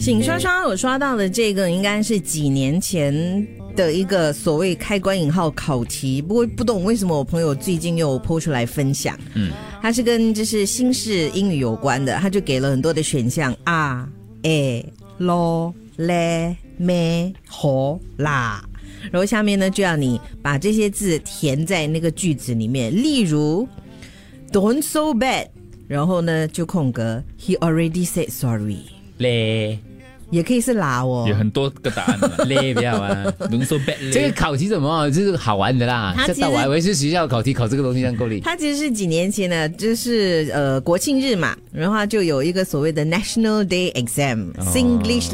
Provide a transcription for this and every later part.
醒刷刷，我刷到的这个应该是几年前的一个所谓开关引号考题，不过不懂为什么我朋友最近又po出来分享。它是跟就是新式英语有关的，他就给了很多的选项啊、lo、le、me、ho、la，然后下面呢就要你把这些字填在那个句子里面，例如 Don't so bad， 然后呢就空格 He already said sorry。 嘞， 也可以是啦哦， 有很多个答案的嘞不要啊。 能说 bad 这个考题怎么就是好玩的啦？ 它其实这我还以为是学校考题考这个东西这样够力。 它其实是几年前呢，就是国庆日嘛，然后它就有一个所谓的 National Day Exam、Singlish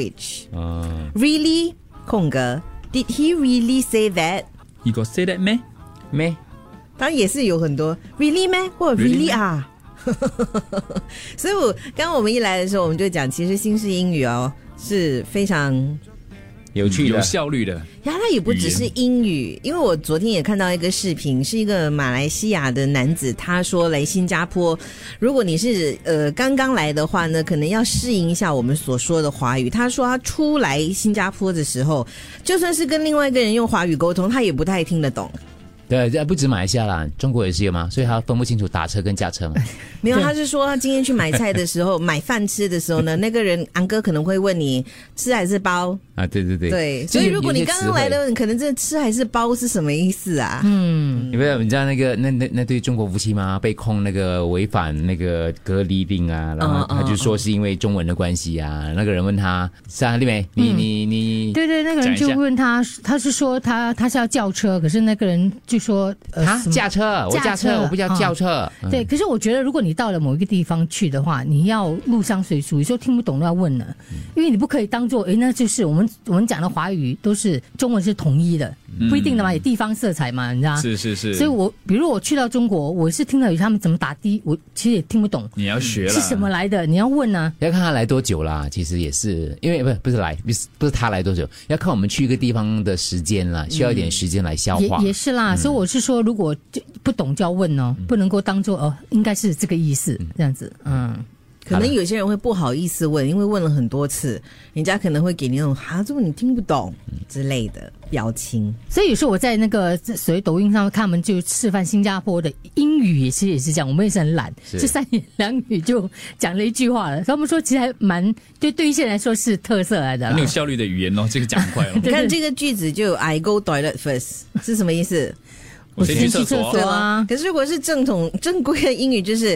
Language。Really 空格 Did he really say that？ You got say that 咩？ 没， 当然也是有很多 Really 咩或者 Really 啊。所以刚刚我们一来的时候，我们就讲，其实新式英语是非常有趣的、 有效率的。 呀，它也不只是英语，因为我昨天也看到一个视频，是一个马来西亚的男子，他说来新加坡，如果你是刚刚来的话呢，可能要适应一下我们所说的华语。他说他初来新加坡的时候，就算是跟另外一个人用华语沟通，他也不太听得懂。 对，不止马来西亚啦，中国也是有嘛，所以他分不清楚打车跟驾车嘛。 没有，他是说他今天去买菜的时候，买饭吃的时候呢，那个人安哥可能会问你吃还是包啊？对对对， 对，所以如果你刚刚来的，你可能这吃还是包是什么意思啊？ 你不知道你知道那个那对中国夫妻吗？被控那个违反那个隔离令啊，然后他就说是因为中文的关系啊。那个人问他，是啊，丽美，你对对，那个人就问他，他是说他是要叫车，可是那个人就说驾车，我驾车，我不叫轿车。 对，可是我觉得如果你到了某一个地方去的话，你要入乡随俗，有时候听不懂都要问了，因为你不可以当做那就是我们讲的华语都是中文是统一的，不一定的嘛，有地方色彩嘛，你知道？ 是。 所以比如我去到中国，我是听到他们怎么打的，我其实也听不懂。 你要学了是什么来的，你要问啊。 要看他来多久啦，其实也是因为不是他来多久，要看我们去一个地方的时间啦，需要一点时间来消化。 也是啦，所以我是说，如果不懂就要问哦，不能够当做应该是这个意思这样子。 可能有些人会不好意思问，因为问了很多次，人家可能会给你那种这么你听不懂之类的表情。 所以有时候我在那个所谓抖音上看他们就示范新加坡的英语，其实也是这样，我们也是很懒，就三言两语就讲了一句话了。他们说其实还蛮对一些人来说是特色来的， 很有效率的语言哦，这个讲快哦。 你看这个句子就 I go toilet first 是什么意思？ 我先去厕所啊。 可是如果是正规的英语就是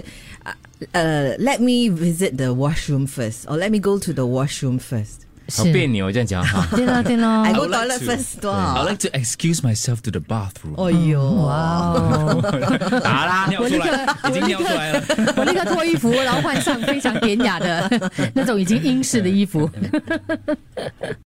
let me visit the washroom first or let me go to the washroom first。 好别扭这样讲哈。 对咯 I go toilet first 多好。 I like to excuse myself to the bathroom。 哎呦， 哇打啦，尿出来，已经尿出来了。 我立刻脱衣服，然后换上非常典雅的那种已经英式的衣服。